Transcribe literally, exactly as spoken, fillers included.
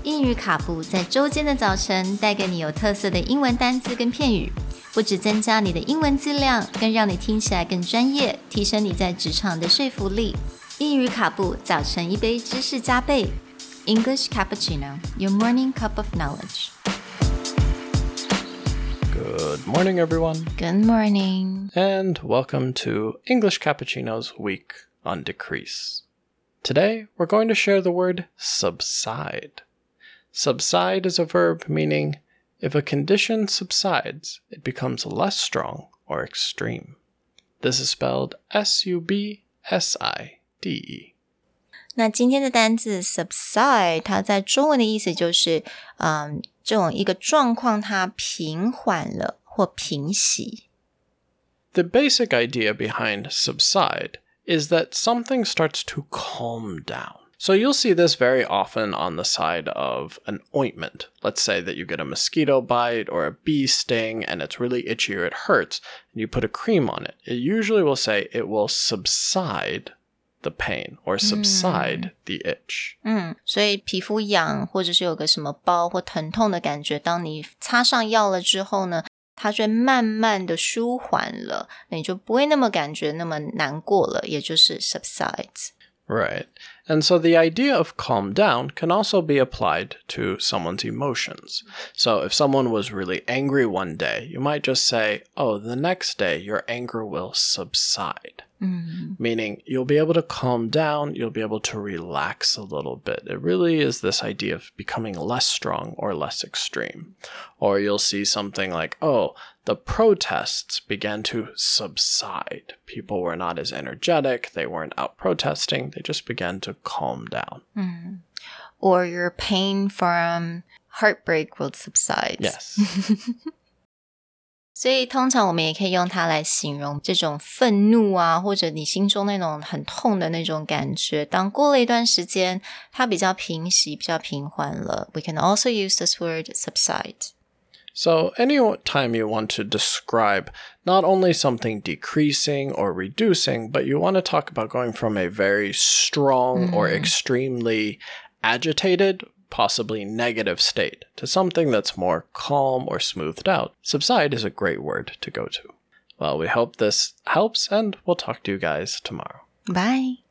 英语卡布在周间的早晨带给你有特色的英文单字跟片语，不只增加你的英文质量，更让你听起来更专业，提升你在职场的说服力。英语卡布早晨一杯知识加倍 English Cappuccino, your morning cup of knowledge. Good morning, everyone. Good morning. And welcome to English Cappuccino's week on decrease. Today, we're going to share the word subside. Subside is a verb meaning if a condition subsides, it becomes less strong or extreme. This is spelled S U B S I D E. 那今天的单字 subside 它在中文的意思就是嗯，这种一个状况它平缓了或平息。 The basic idea behind subside is that something starts to calm down. So you'll see this very often on the side of an ointment. Let's say that you get a mosquito bite or a bee sting and it's really itchy or it hurts, and you put a cream on it. It usually will say it will subside the pain or subside the itch. 嗯，所以皮肤痒或者是有个什么包或疼痛的感觉，当你擦上药了之后呢，它就会慢慢的舒缓了，你就不会那么感觉那么难过了，也就是 subsides. Right. And so the idea of calm down can also be applied to someone's emotions. So if someone was really angry one day, you might just say, oh, the next day your anger will subside. Mm. Meaning you'll be able to calm down, you'll be able to relax a little bit. It really is this idea of becoming less strong or less extreme. Or you'll see something like, oh, the protests began to subside. People were not as energetic, they weren't out protesting, they just began to calm down. Mm. Or your pain from heartbreak will subside. Yes. 所以通常我们也可以用它来形容这种愤怒啊，或者你心中那种很痛的那种感觉，当过了一段时间它比较平息，比较平缓了， we can also use this word subside. So any time you want to describe not only something decreasing or reducing, but you want to talk about going from a very strong mm. or extremely agitated, possibly negative state to something that's more calm or smoothed out, subside is a great word to go to. Well, we hope this helps, and we'll talk to you guys tomorrow. Bye.